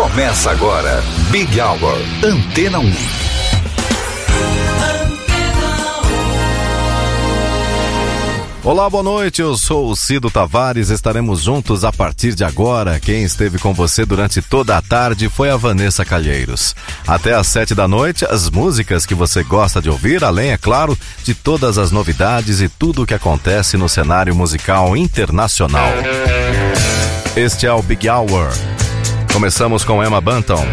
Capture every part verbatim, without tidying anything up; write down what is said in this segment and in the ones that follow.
Começa agora, Big Hour, Antena um. Olá, boa noite, eu sou o Cido Tavares, estaremos juntos a partir de agora. Quem esteve com você durante toda a tarde foi a Vanessa Calheiros. Até às sete da noite, as músicas que você gosta de ouvir, além, é claro, de todas as novidades e tudo o que acontece no cenário musical internacional. Este é o Big Hour. Começamos com Emma Bunton.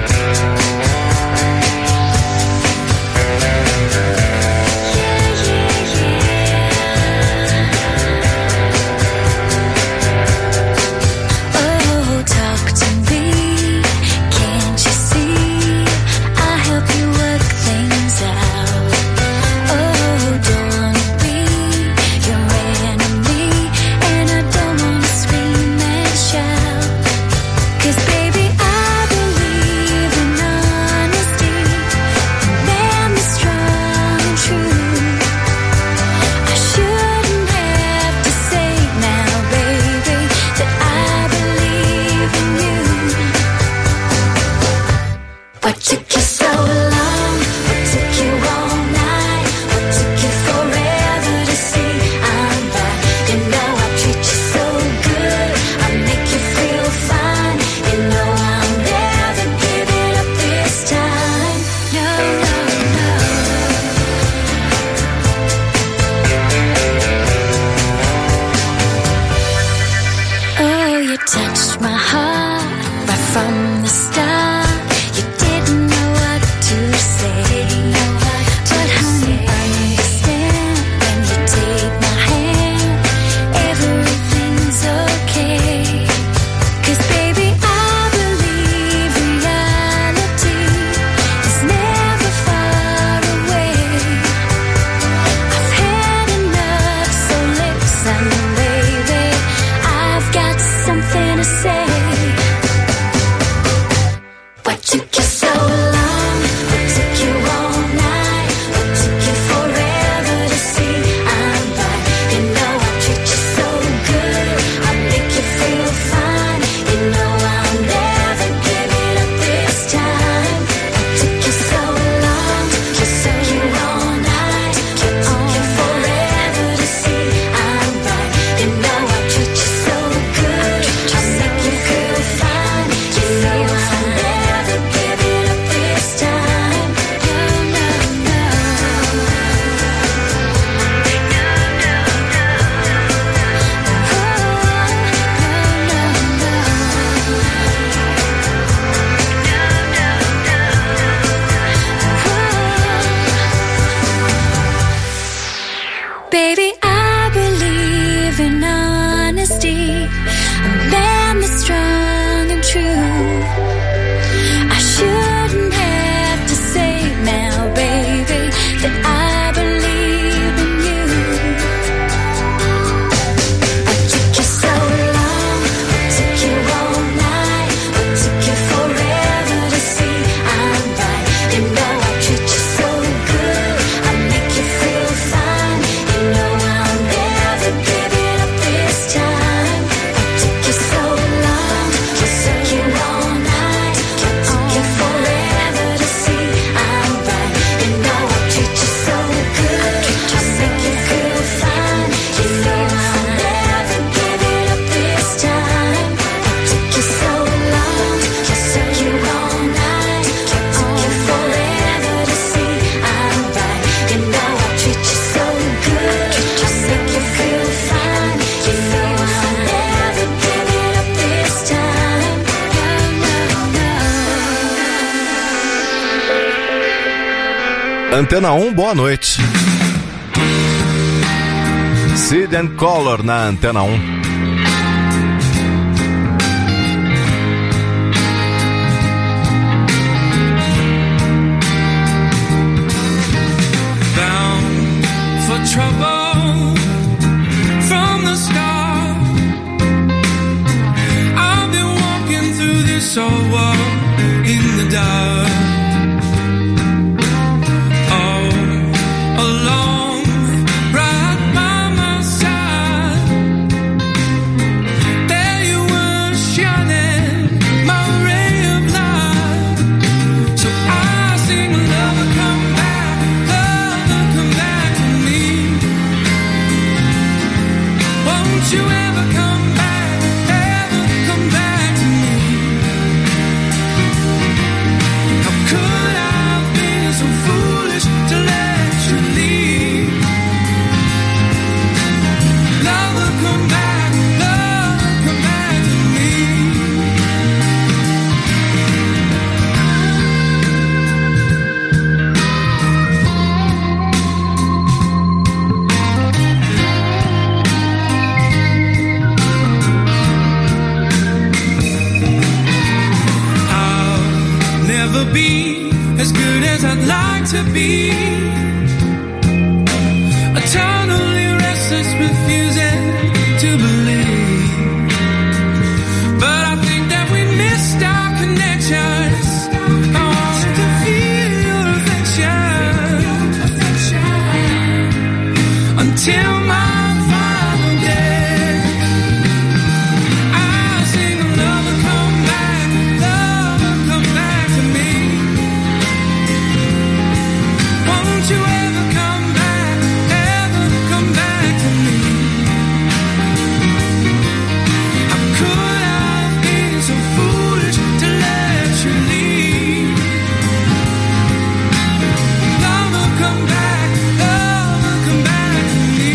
Antena um, boa noite. Seed and Color na Antena um. Bound for trouble from the start. I've been walking through this old world in the dark. There you were shining, my ray of light. place I'd like to be. Eternally restless, refusing to believe. But I think that we missed our connections. I wanted to feel your affection until my final day. I'll sing lover come back, lover come back to me. Won't you ever come back, ever come back to me? How could I have been so foolish to let you leave? Lover come back, lover come back to me.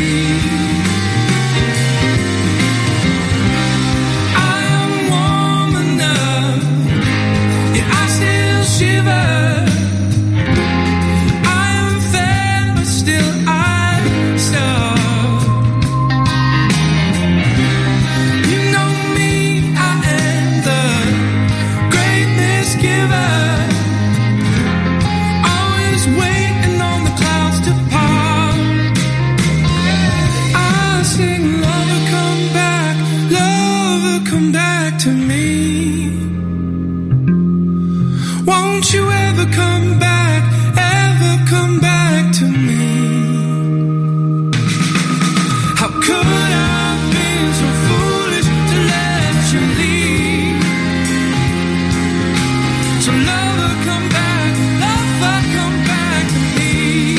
I am warm enough, yet I still shiver. I am fair, but still I starve. You know me, I am the great misgiver, always waiting on the clouds to part. I sing lover come back, lover come back to me. Won't you ever come back, ever come back to me? How could I have been so foolish to let you leave? So lover come back, lover come back to me.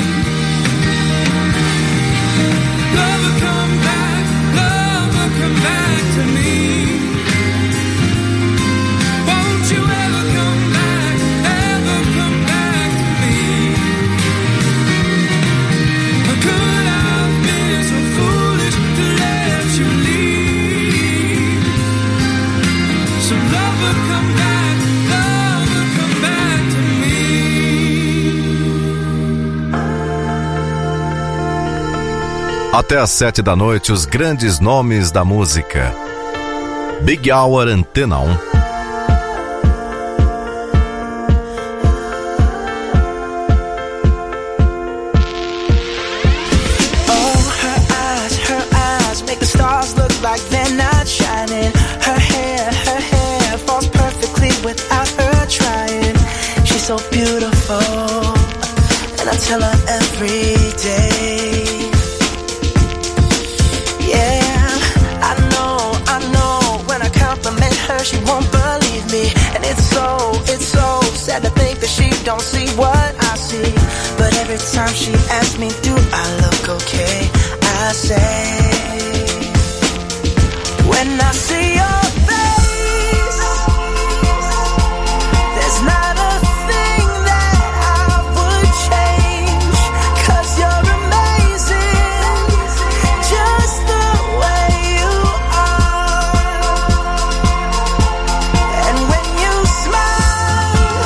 Lover come back, lover come back to me. Won't you ever come back, ever come back to me? How could I have been so foolish to let you leave? So lover come back, lover come back to me. Até às sete da noite, os grandes nomes da música. Big Hour, Antena um. Oh, her eyes, her eyes make the stars look like they're not shining. Her hair, her hair falls perfectly without her trying. She's so beautiful, and I tell her every day. Yeah, I know, I know, when I compliment her, she won't believe me. And it's so, it's so sad to think that she don't see what I see. But every time she asks me, do I look okay? I say, when I see your face, there's not a thing that I would change. 'Cause you're amazing, just the way you are. And when you smile,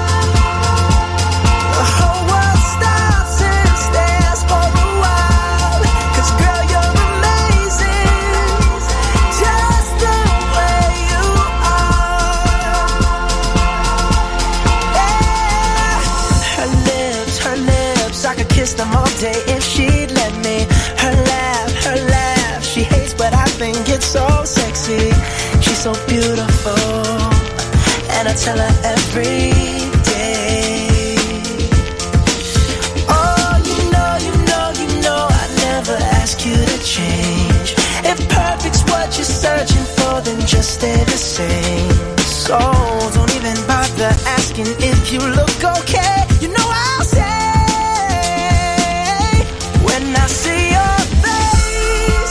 the whole world stops and stares for a while. 'Cause girl, you're amazing, just the way you are. Yeah. Her lips, her lips, I could kiss them all day if she'd let me. Her laugh, her laugh, she hates but I think it's so sexy. She's so beautiful, and I tell her every day. Oh, you know, you know, you know I never ask you to change. If perfect's what you're searching for, then just stay the same. So don't even bother asking if you look okay. You know I'll say, when I see your face,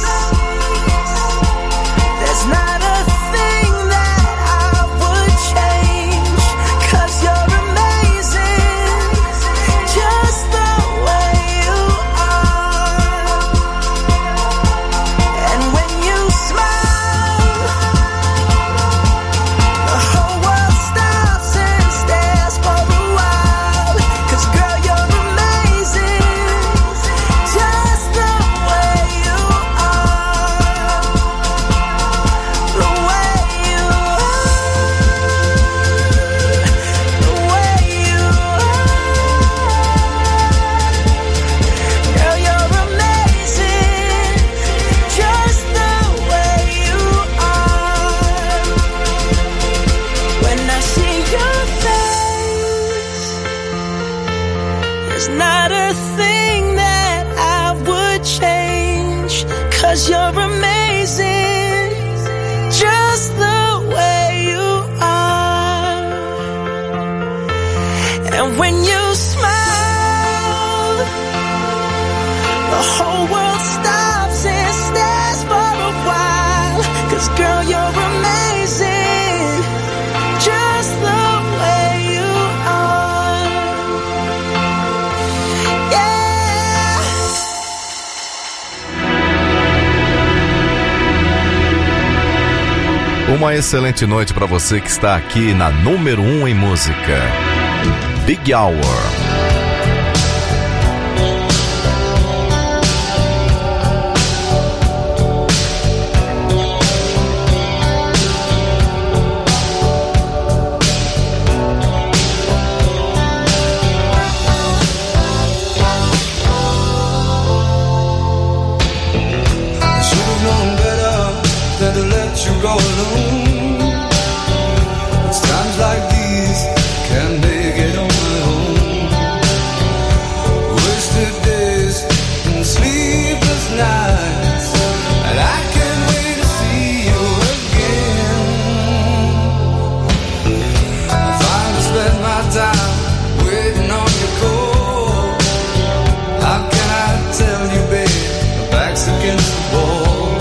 there's not a thing that I would change. 'Cause you're amazing, just the way you are. And when you smile, the whole world stops and stares for a while. 'cause you're amazing, just the way you are. And when you smile, the whole world stops and stares for a while. 'Cause girl, you're amazing, just the way you are. Yeah. Uma excelente noite para você que está aqui na número um em música. Big Hour. You go alone. It's times like these can't make it on my own. Wasted days and sleepless nights, and I can't wait to see you again. I finally spend my time waiting on your call. How can I tell you, babe, my back's against the wall?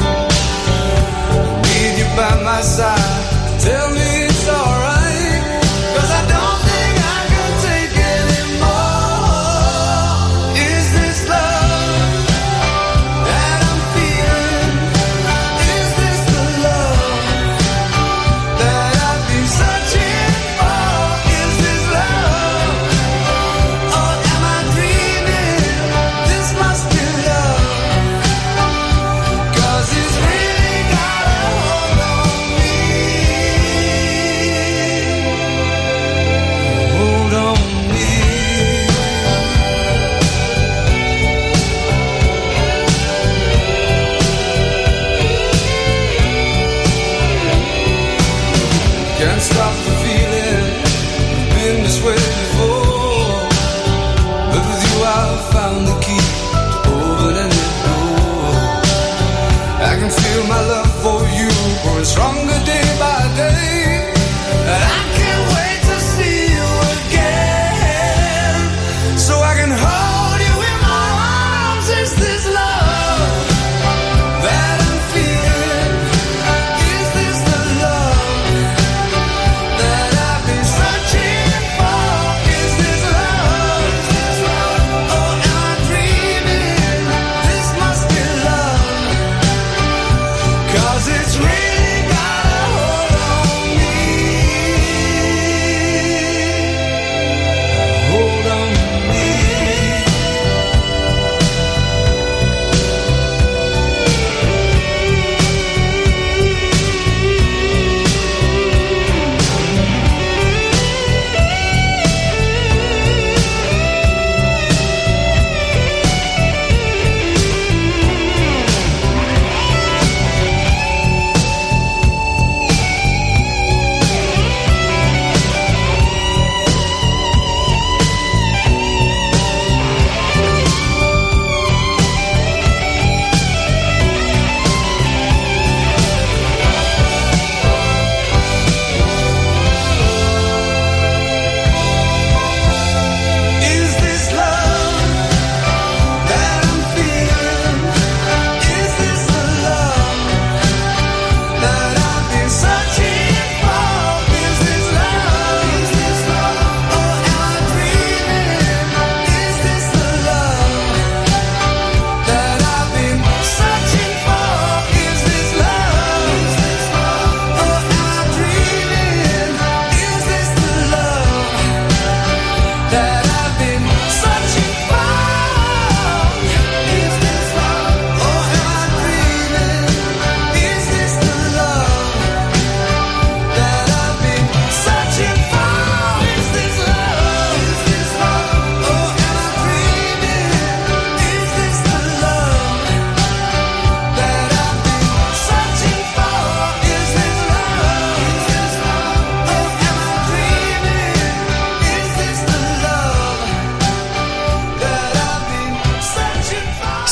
By my side, tell me it's alright, 'cause I don't think I can take anymore. Is this love that I'm feeling? Is this the love that I've been searching for? Is this love, or am I dreaming? This must be love, 'cause it's really got a hold on. Hold on me. Can't stop the feeling, been this way before, but with you I've found the key to open any door. I can feel my love for you growing stronger day by day, and I can't wait to see you again, so I can hold you in my arms. Is this love that I'm feeling? Is this the love that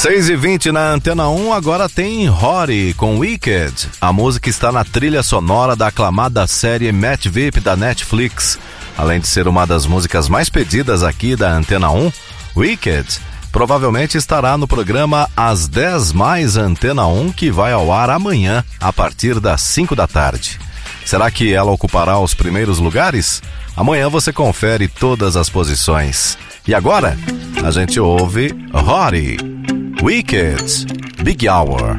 seis e vinte na Antena um, agora tem Rory com Wicked. A música está na trilha sonora da aclamada série Match V I P da Netflix. Além de ser uma das músicas mais pedidas aqui da Antena um, Wicked provavelmente estará no programa As dez mais Antena um, que vai ao ar amanhã, a partir das cinco da tarde. Será que ela ocupará os primeiros lugares? Amanhã você confere todas as posições. E agora, a gente ouve Rory, Wicked, Big Hour.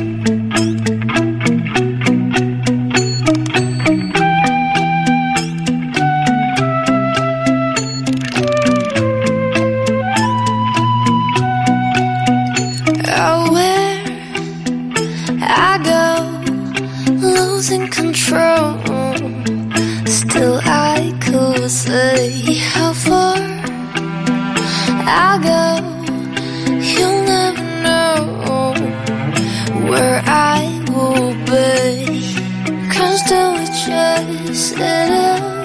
Losing control, still I could say how far I go. You'll never know where I will be. Cause till we chase it up,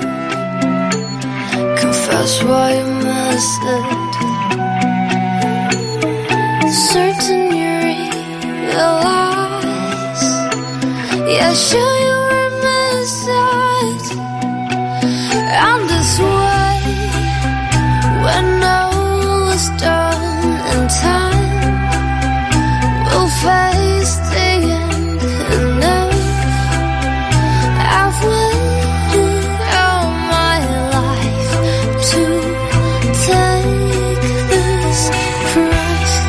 confess why you missed it. Certain you realize, yeah, sure you were missing. I'm this way when all is done and time will face the end. Enough, I've waited all my life to take this price.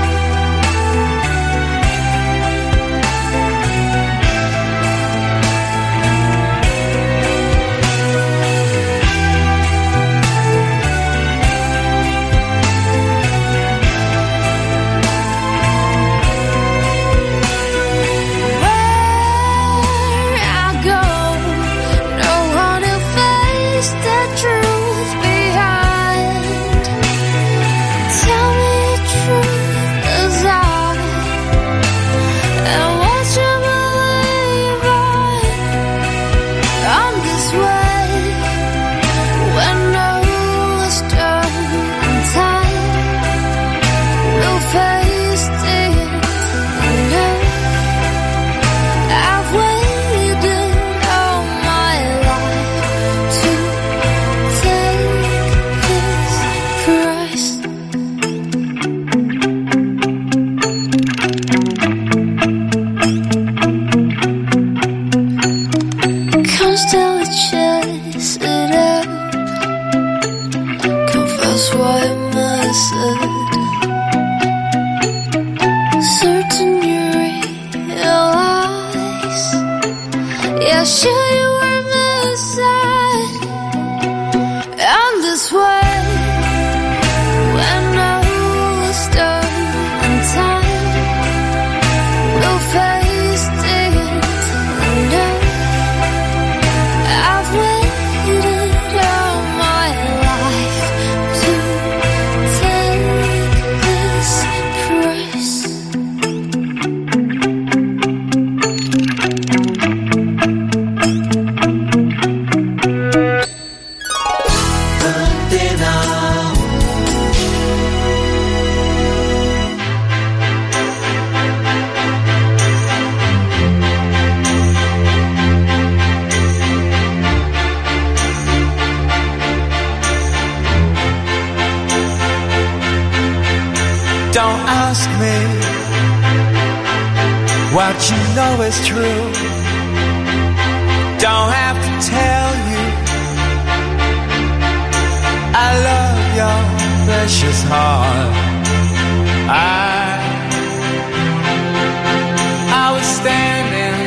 What you know is true. Don't have to tell you I love your precious heart. I I was standing,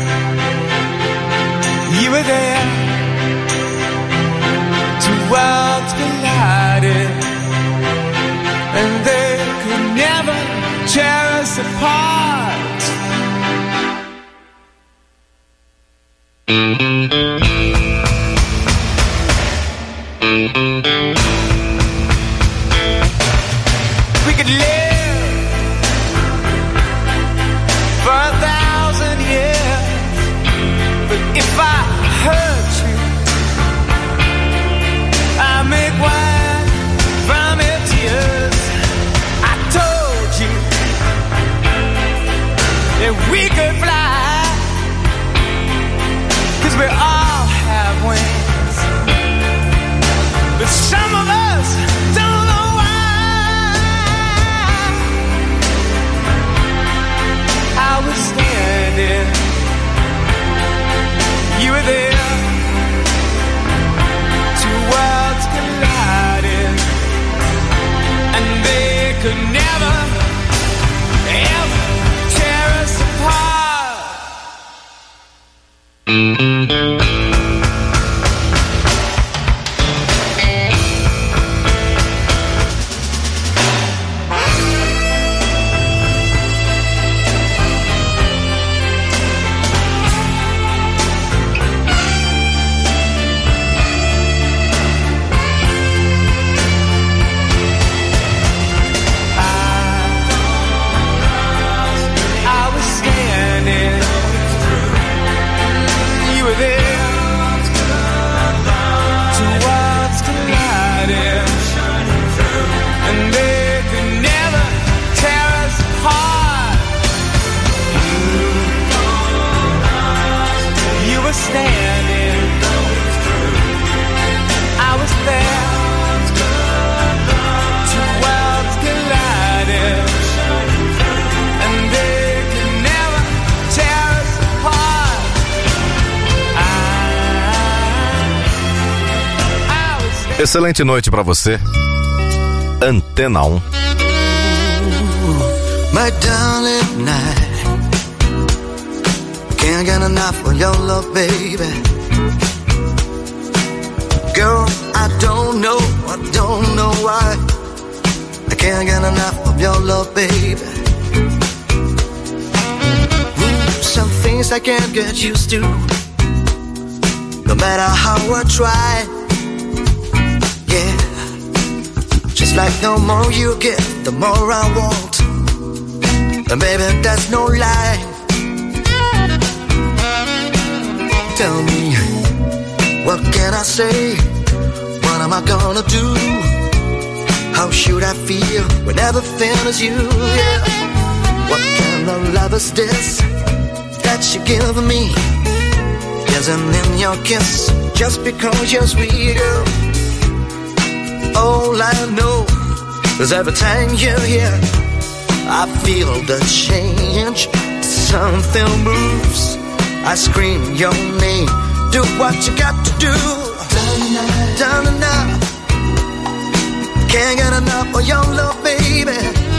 you were there. Two worlds collided, and they could never tear us apart. We could live for a thousand years, but if I hurt you, I make wine from your tears. I told you Excelente noite pra você. Antena um. My darling night, can't get enough of your love, baby. Girl, I don't know, I don't know why I can't get enough of your love, baby. Ooh, some things I can't get used to, no matter how I try. Yeah, just like the more you get, the more I want. And baby, that's no lie. Tell me, what can I say? What am I gonna do? How should I feel when everything is you? Yeah. What kind of love is this that you give me? Isn't in your kiss just because you're sweet, girl. All I know is every time you're here, I feel the change. Something moves, I scream your name. Do what you got to do. Down and out. Can't get enough of your love, baby.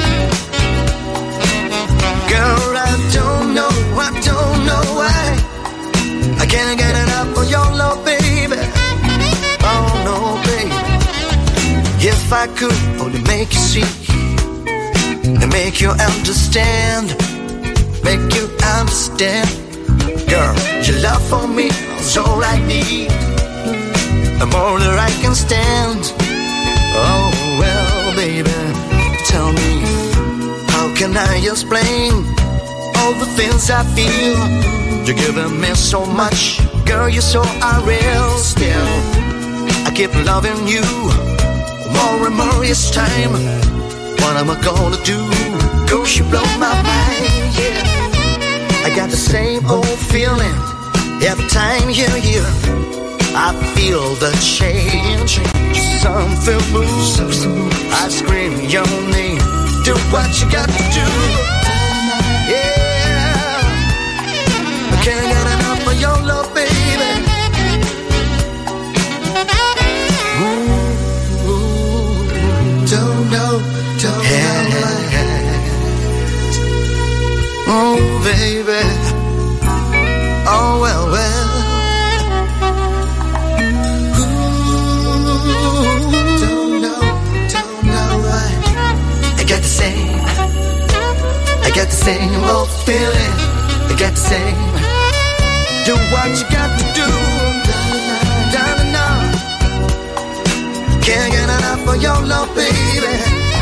Girl, I don't know, I don't know why I can't get enough of your love, baby. Oh no, baby. If I could only make you see and make you understand, make you understand. Girl, your love for me is all I need, the more that I can stand. Oh well, baby, tell me, how can I explain all the things I feel? You're giving me so much, girl, you're so unreal. Still, I keep loving you more and more each time. What am I gonna do? Cause you blow my mind, yeah. I got the same old feeling every time you're here. I feel the change. Something moves, I scream your name. Do what you got to do. Yeah, I can't get enough of your love, baby. Ooh, ooh, don't know, don't yeah. know. Oh, baby. Oh, well, well. Ooh, don't know, don't know why. I got the same, I got the same old feeling. I got the same. Do what you got to do. Down and out. Can't get enough of your love, baby.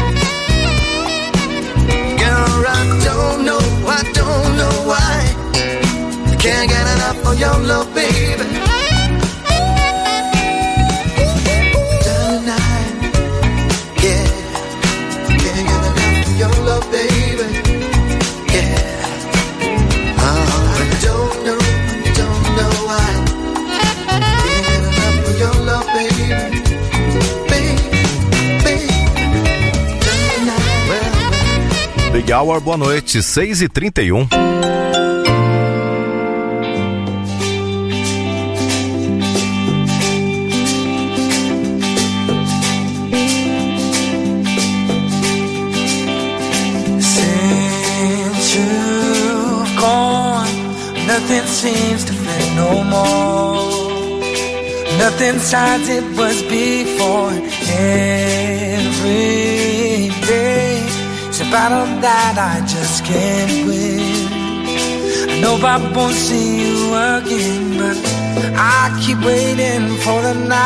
Girl, I don't know, I don't know why I can't get enough of your love, baby. Tonight, yeah, can't get enough of your love, baby. Yeah, oh, I don't know, I don't know why I can't get enough of your love, baby. Big Hour, boa noite, seis e trinta e um. Since you've gone, nothing seems to fit no more. Nothing's as it was before. Every day it's a battle that I just can't win. I know I won't see you again, but I keep waiting for the night.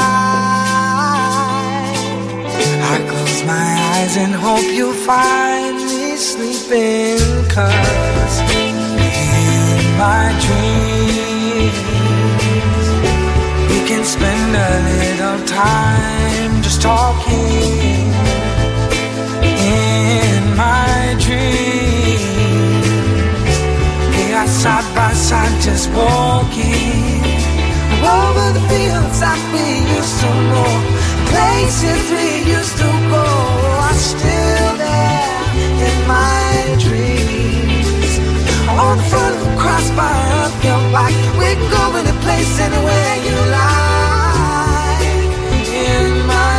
I close my eyes and hope you'll find me sleeping, 'cause in my dreams we can spend a little time just talking. In my dreams we are side by side just walking over the fields that we used to know, places we used to go are still there in my dreams. On the front of the crossbar up your back, we can go any place, anywhere you like. In my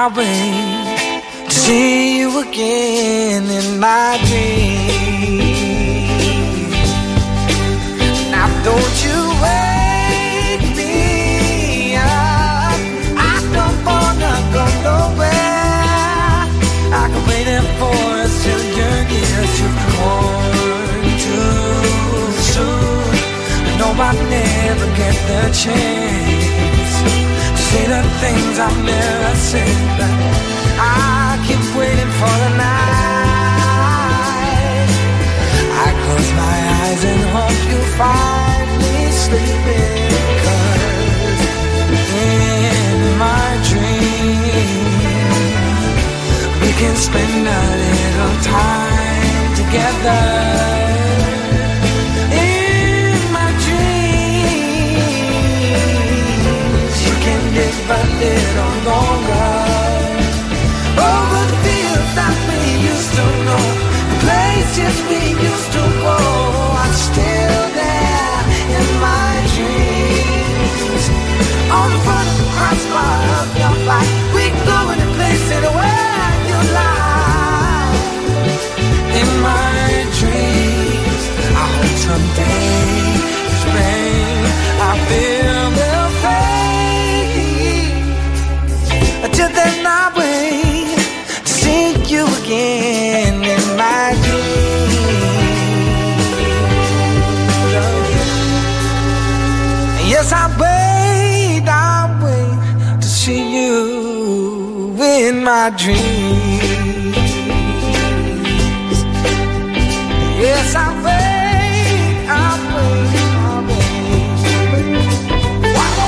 I wait to see you again in my dreams. Now don't you wake me up, I don't wanna go nowhere. I can wait for us till your years you've gone too soon. I know I'll never get the chance to say the things I've never said, but I keep waiting for the night. I close my eyes and hope you find me sleeping, 'cause in my dreams we can spend a little time together. In my dreams you can live a little longer. Over the fields that we used to know, the places we used to go are still there in my dreams. On the front of the crossbar of your bike, we go in a place where you lie. In my dreams, I hope someday this rain I feel will fade. Until then I wait to see you again in my dreams. Yes, I wait, I wait to see you in my dreams. Yes, I wait, I wait, I wait. Wow.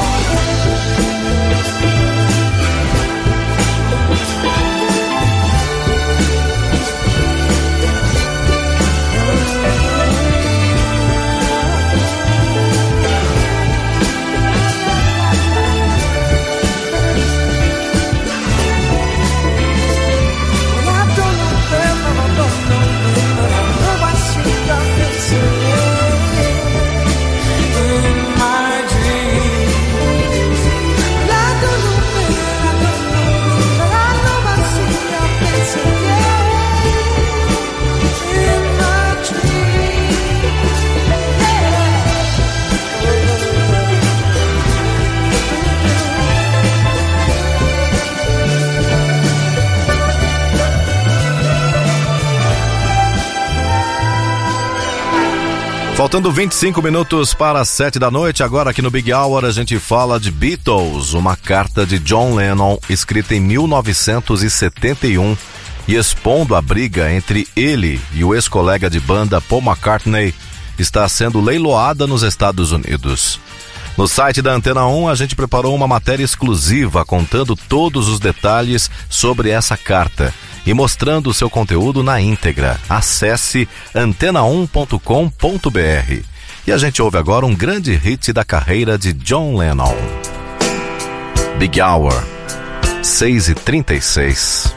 Faltando vinte e cinco minutos para as sete da noite, agora aqui no Big Hour a gente fala de Beatles, uma carta de John Lennon escrita em mil novecentos e setenta e um e expondo a briga entre ele e o ex-colega de banda Paul McCartney, está sendo leiloada nos Estados Unidos. No site da Antena um a gente preparou uma matéria exclusiva contando todos os detalhes sobre essa carta e mostrando o seu conteúdo na íntegra. Acesse antena um ponto com ponto b r. E a gente ouve agora um grande hit da carreira de John Lennon. Big Hour, seis e trinta e seis.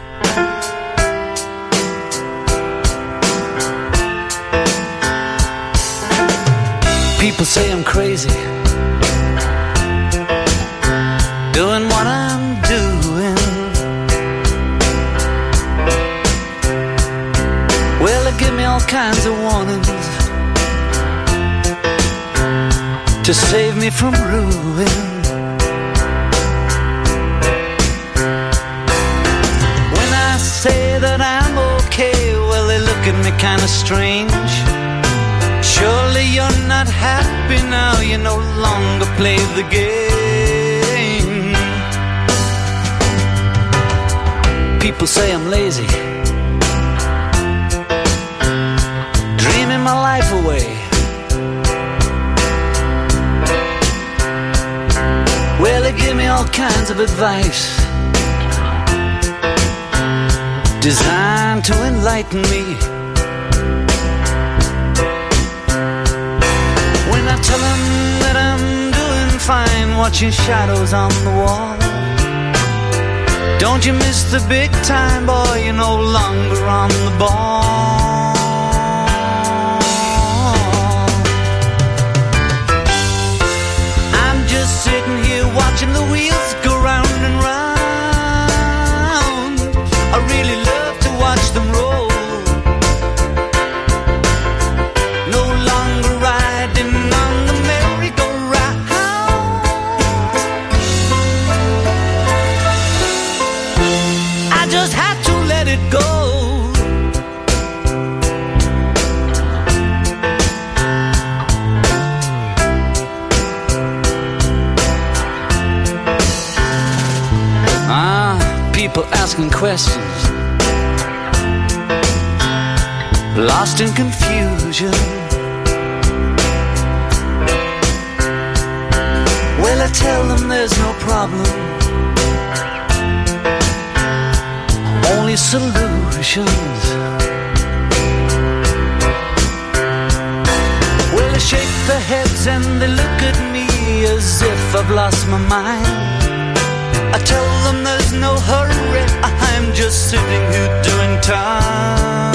People say I'm crazy, doing what I'm doing. Well, they give me all kinds of warnings to save me from ruin. When I say that I'm okay, well, they look at me kind of strange. Surely you're not happy now, you no longer play the game. People say I'm lazy, dreaming my life away. Well, they give me all kinds of advice designed to enlighten me. When I tell them that I'm doing fine, watching shadows on the wall, don't you miss the big time, boy, you're no longer on the ball. I'm just sitting here watching the wheels go round and round. questions, lost in confusion. Well, I tell them there's no problem, only solutions. Well, they shake their heads and they look at me as if I've lost my mind. I tell them there's no hurry, I'm just sitting here doing time.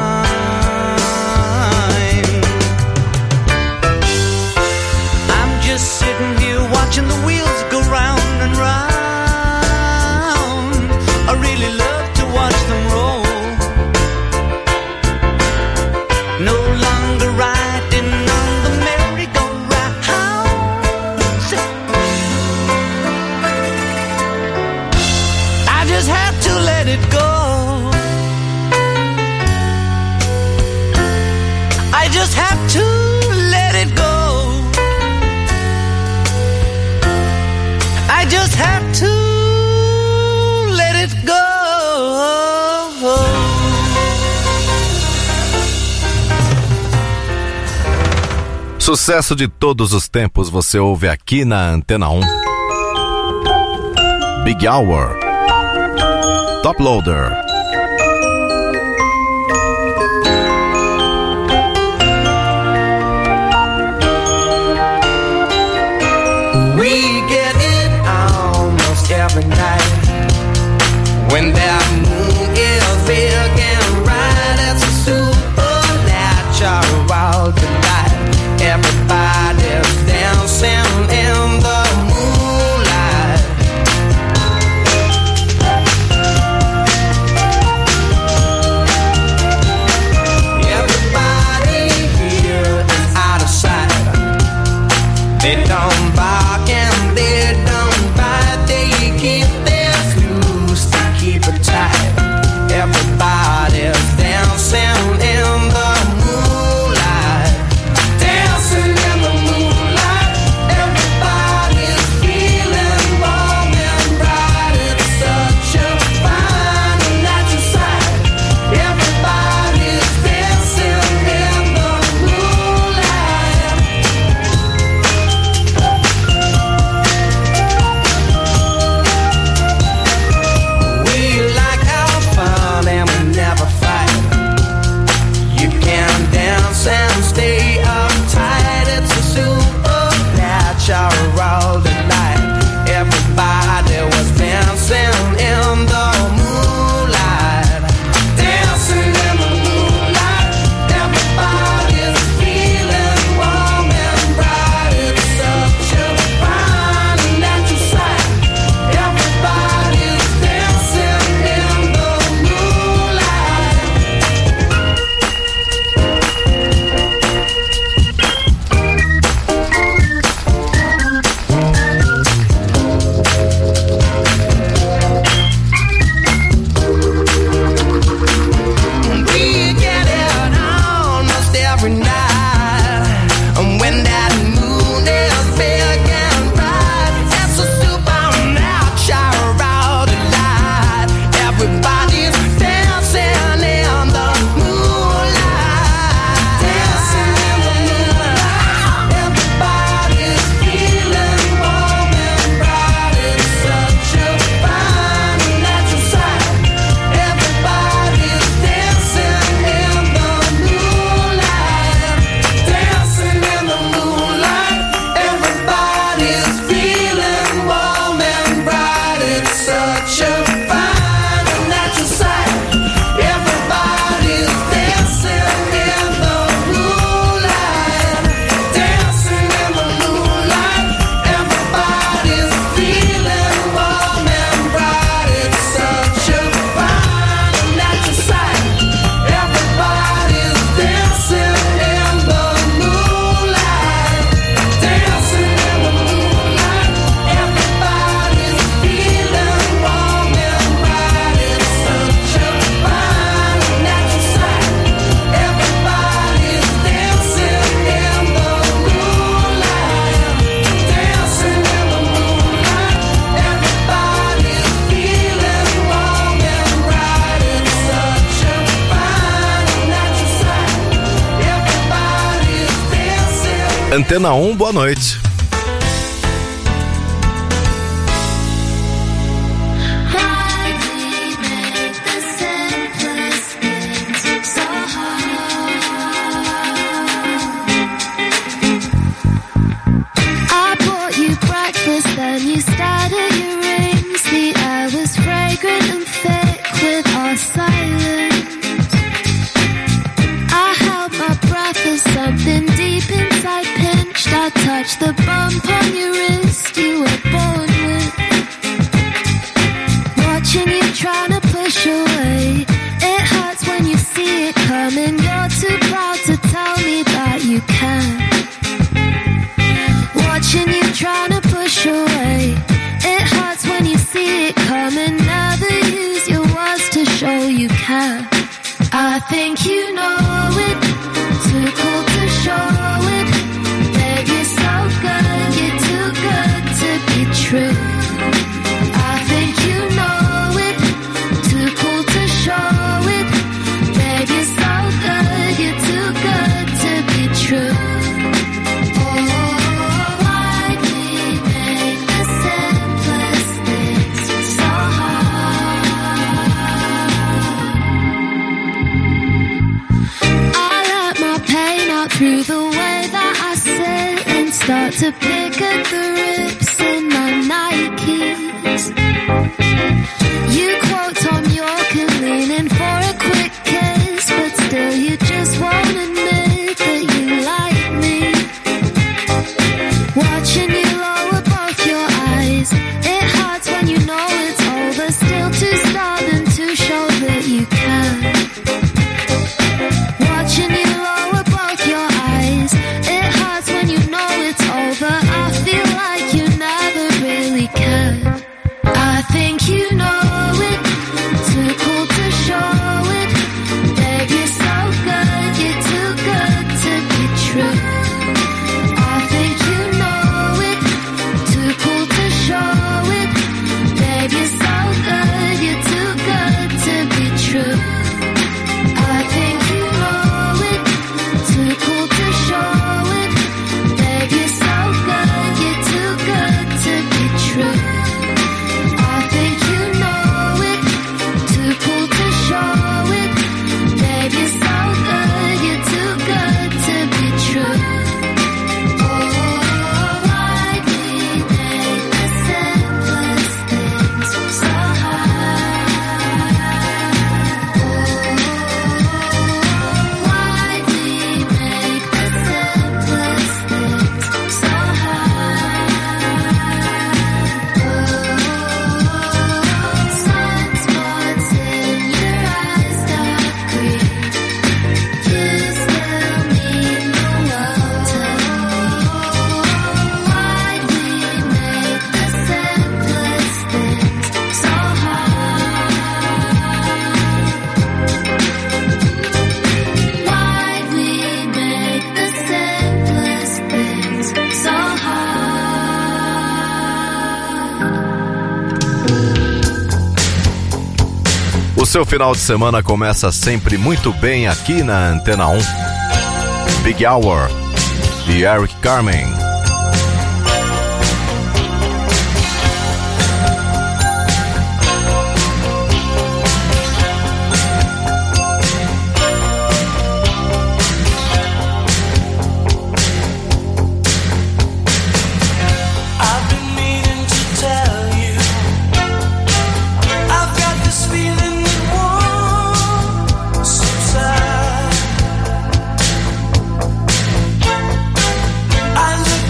I'm just sitting here watching the wheels go round and round. I really love to watch them roll. No longer riding on the merry-go-round. I just have to let it go. I just have to let it go. I just have to let it go. Sucesso de todos os tempos você ouve aqui na Antena um. Big Hour, Top Loader. We get it almost every night when that moon is big and bright. It's a supernatural delight. Everybody's dancing in the moonlight. Antena um, boa noite. Then you started your rings. The air was fragrant and thick with our silence. I held my breath as something deep inside pinched. I touched the bump on your wrist you were born with. Watching you trying to push away. It hurts when you see it coming. You're too proud to tell me that you can. Watching you trying to push away. It hurts when you see it coming. Never use your words to show you care. I think you know it. Too cool to show it. Babe, you're so good. You're too good to be true. I think you know it. Too cool to show it. Babe, you're so good. You're too good to be true. Through the way that I sit and start to pick at the rips in my Nikes. You quote Tom York and lean in for a quick kiss, but still you just won't admit that you like me. Watching you lower both your eyes, it hurts when you know it's over. Still too stubborn to show that you can. Watching you lower both your eyes, it hurts when you know it's over. I feel like you never really cared. I think you know it, too cool to show it. Babe, you're so good, you're too good to be true. I think you know it, too cool to show it. Babe, you're so good, you're too good to be true. I think you know it, too cool to show it. Babe, you're so good, you're too good to be true. I think you know it, too cool to show it. Babe, you're so good, you're too good to be true. Oh, why'd we make the simplest things so hard? Why'd we make the simplest things so hard? Sunspots in your eyes, dark green. You still mean the world to me. Why'd we make the simplest things so hard? Why'd we make the simplest things so hard? O seu final de semana começa sempre muito bem aqui na Antena um. Big Hour de Eric Carmen. I've been meaning to tell you, I've got this feeling that won't subside. I look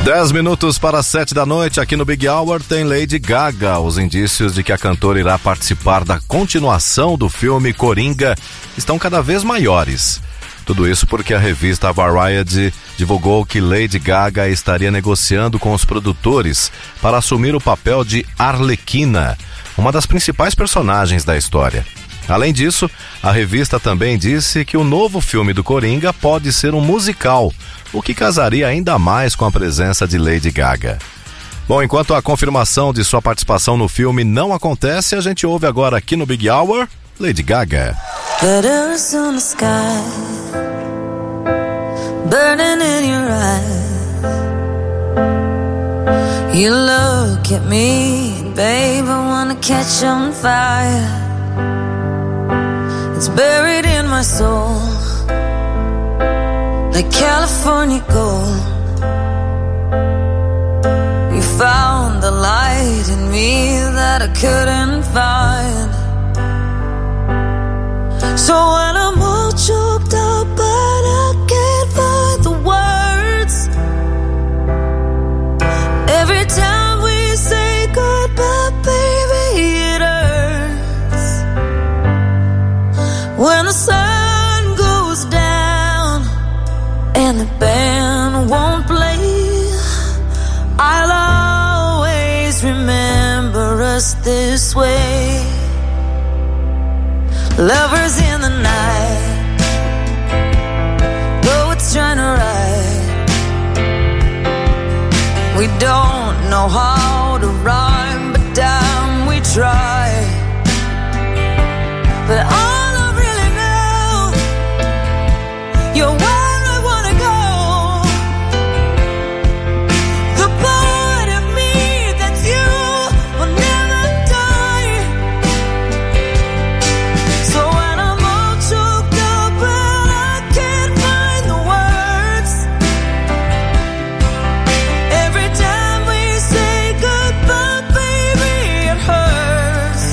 Dez minutos para sete da noite, aqui no Big Hour tem Lady Gaga. Os indícios de que a cantora irá participar da continuação do filme Coringa estão cada vez maiores. Tudo isso porque a revista Variety divulgou que Lady Gaga estaria negociando com os produtores para assumir o papel de Arlequina, uma das principais personagens da história. Além disso, a revista também disse que o novo filme do Coringa pode ser um musical, o que casaria ainda mais com a presença de Lady Gaga. Bom, enquanto a confirmação de sua participação no filme não acontece, a gente ouve agora aqui no Big Hour, Lady Gaga. Letters on the sky, burning in your eyes. You look at me, babe, I wanna catch on fire. It's buried in my soul, like California gold. You found the light in me that I couldn't find. So when I'm all choked up but I can't find the words, every time we say goodbye, baby, it hurts. When the sun goes down and the band won't play, I'll always remember us this way. Lovers in the night, though it's trying to ride. We don't know how to rhyme, but damn, we try. But all I really know, you're where I wanna go. The part of me that's you will never die. So when I'm all choked up and I can't find the words, every time we say goodbye, baby, it hurts.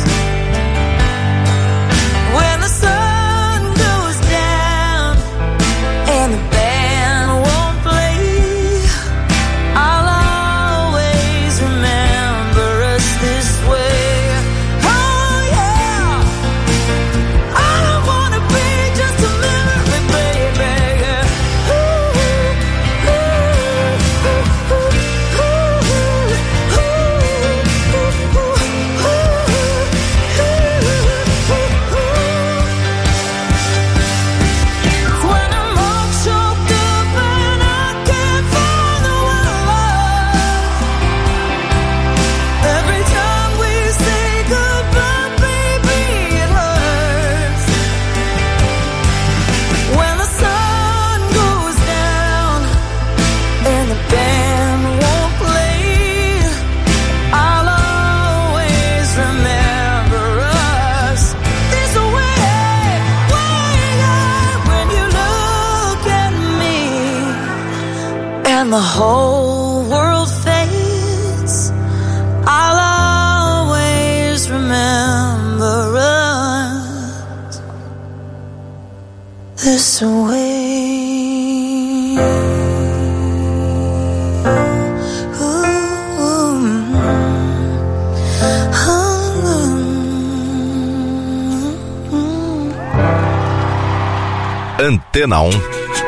When the sun goes down and the band won't play, I'll always remember us this way. Oh yeah, I don't wanna be just a memory, baby. Ooh, ooh, ooh, ooh, ooh, ooh, when I'm all choked up and I can't find the words, every time we say goodbye, baby, it hurts. When the sun goes down and the band won't play, I'll always remember us this way. When you look at me and the whole world fades, I'll always remember us this way. Antena um.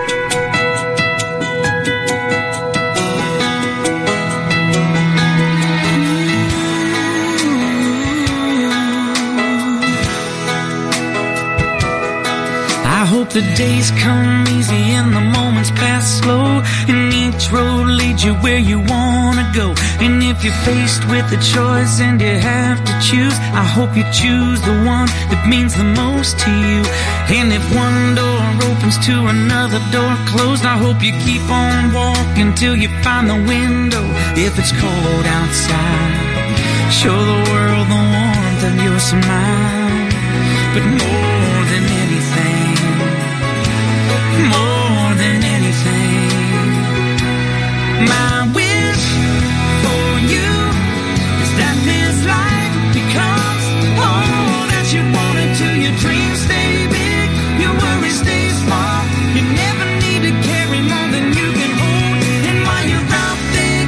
I hope the days come easy and the moments pass slow, and each road leads you where you wanna go. And if you're faced with a choice and you have to choose, I hope you choose the one that means the most to you. And if one door opens to another door closed, I hope you keep on walking till you find the window. If it's cold outside, show the world the warmth of your smile. But more than anything, more than anything, my wish for you is that this life becomes all that you want it to. Your dreams stay big, your worries stay small. You never need to carry more than you can hold. And while you're out there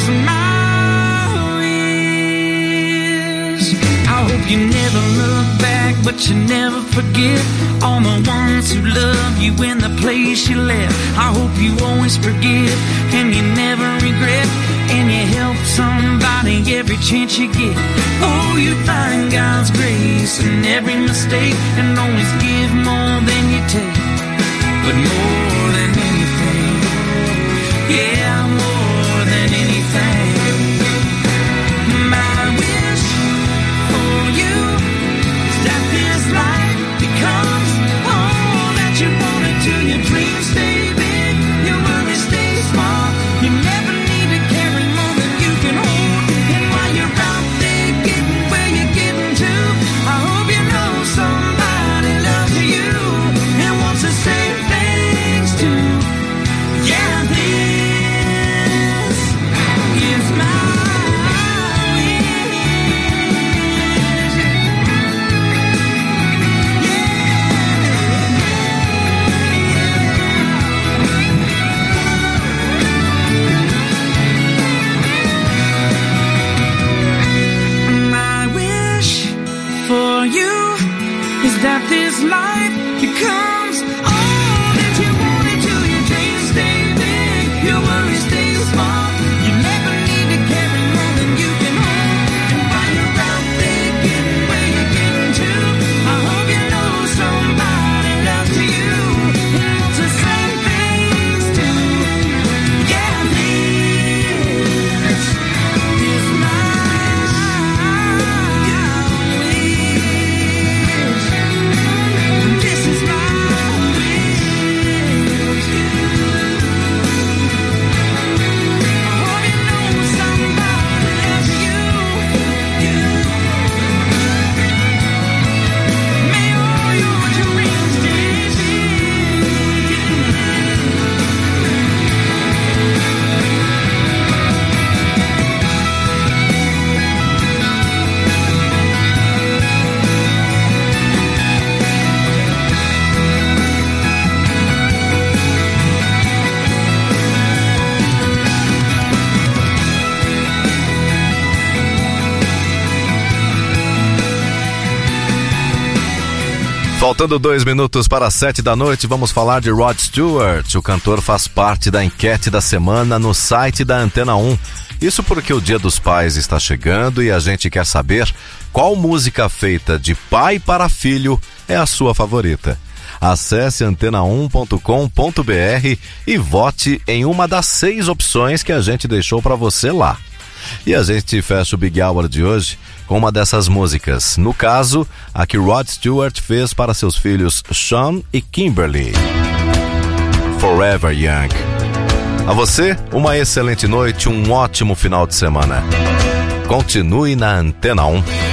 is my wish. I hope you never look back, but you never forget all the ones who love you in the place you left. I hope you always forgive and you never regret, and you help somebody every chance you get. Oh, you find God's grace in every mistake, and always give more than you take. But more than anything, yeah, more than anything, my wish for you is that this life becomes all that you wanted to. Your dreams stay big, your worries stay small. You never need to carry more than you can hold. And while you're out there getting where you're getting to, I hope you know somebody loves you and wants to say thanks to. Yeah, this is my that this life becomes all that you wanted to. Your dreams stay big, your worries stay small. You never need to carry more than you can hold. And while you're out there getting where you're getting to, I hope you know somebody loves you and wants to say things to. Yeah, this is my Faltando dois minutos para as sete da noite, vamos falar de Rod Stewart. O cantor faz parte da enquete da semana no site da Antena um. Isso porque o Dia dos Pais está chegando e a gente quer saber qual música feita de pai para filho é a sua favorita. Acesse antena um ponto com ponto b r e vote em uma das seis opções que a gente deixou para você lá. E a gente fecha o Big Hour de hoje com uma dessas músicas. No caso, a que Rod Stewart fez para seus filhos Sean e Kimberly. Forever Young. A você, uma excelente noite, um ótimo final de semana. Continue na Antena um.